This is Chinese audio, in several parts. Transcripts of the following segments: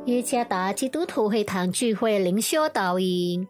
耶加达基督徒会堂聚会灵修导引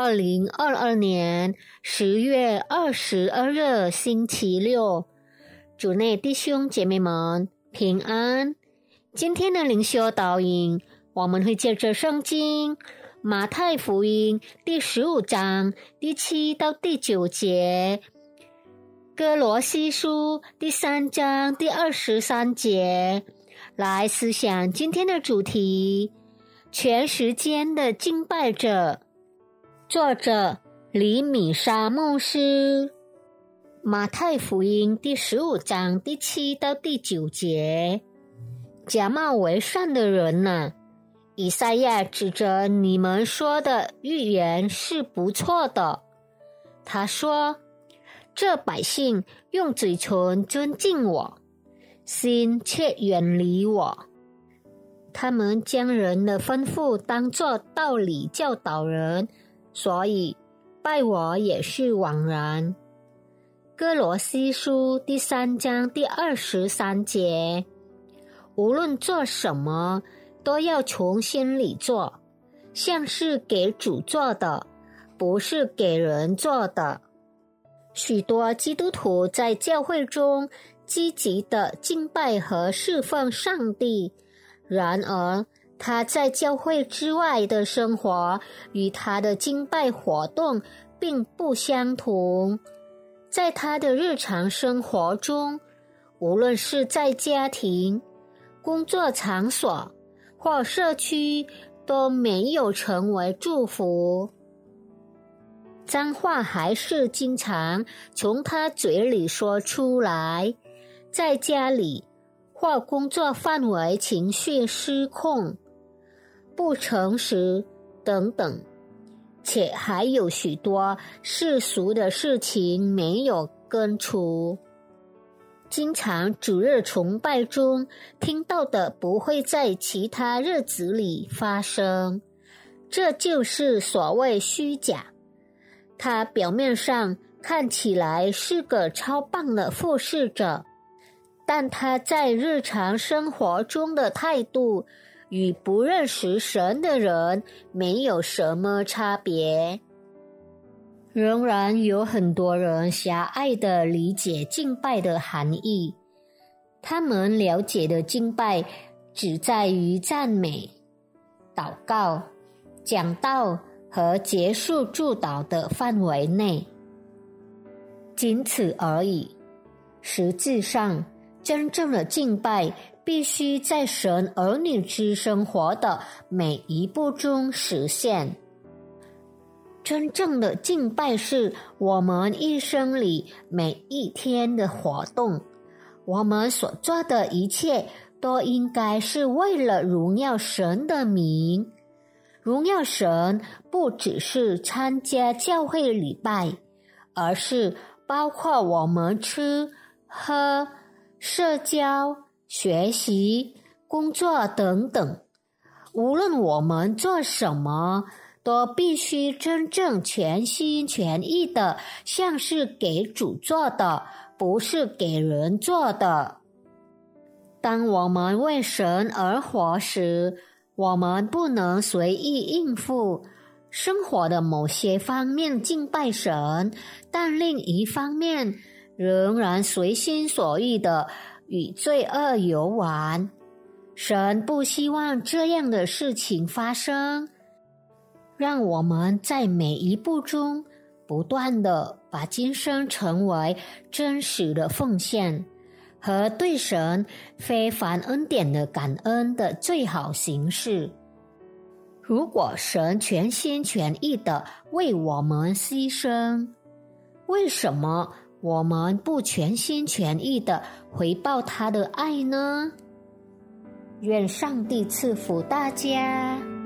，2022年10月22日星期六，主内弟兄姐妹们平安。今天的灵修导引，我们会借着圣经马太福音第15章第7到第9节，哥罗西书第3章第23节来思想今天的主题：全时间的敬拜者。作者李米沙牧师。马太福音第15章第7到第9节，假冒为善的人哪，以赛亚指着你们说的预言是不错的。他说，这百姓用嘴唇尊敬我，心却远离我。他们将人的吩咐当作道理教导人，所以拜我也是枉然。哥罗西书第3章第23节，无论做什么，都要从心里做，像是给主做的，不是给人做的。许多基督徒在教会中积极的敬拜和侍奉上帝，然而他在教会之外的生活与他的敬拜活动并不相同。在他的日常生活中，无论是在家庭、工作场所或社区，都没有成为祝福。脏话还是经常从他嘴里说出来，在家里或工作范围情绪失控、不诚实等等，且还有许多世俗的事情没有根除。经常主日崇拜中听到的不会在其他日子里发生，这就是所谓虚假。他表面上看起来是个超棒的服侍者，但他在日常生活中的态度与不认识神的人没有什么差别。仍然有很多人狭隘地理解敬拜的含义，他们了解的敬拜只在于赞美、祷告、讲道和结束祝祷的范围内，仅此而已。实际上，真正的敬拜必须在神儿女之生活的每一步中实现。真正的敬拜是我们一生里每一天的活动，我们所做的一切都应该是为了荣耀神的名。荣耀神不只是参加教会礼拜，而是包括我们吃、喝、社交、学习、工作等等。无论我们做什么，都必须真正全心全意的，像是给主做的，不是给人做的。当我们为神而活时，我们不能随意应付生活的某些方面敬拜神，但另一方面仍然随心所欲的与罪恶游玩。神不希望这样的事情发生，让我们在每一步中不断的把今生成为真实的奉献和对神非凡恩典的感恩的最好形式。如果神全心全意的为我们牺牲，为什么我们不全心全意的回报他的爱呢？愿上帝赐福大家。